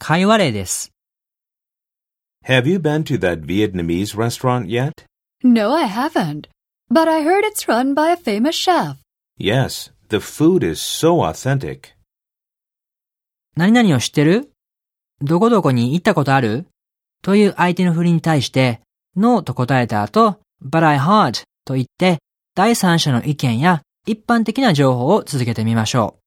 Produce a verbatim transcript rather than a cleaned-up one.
会話例です。 Have you been to that Vietnamese restaurant yet? No, I haven't. But I heard it's run by a famous chef. Yes, the food is so authentic. 何々を知ってる？どこどこに行ったことある？という相手の振りに対して、No と答えた後、But I heard と言って、第三者の意見や一般的な情報を続けてみましょう。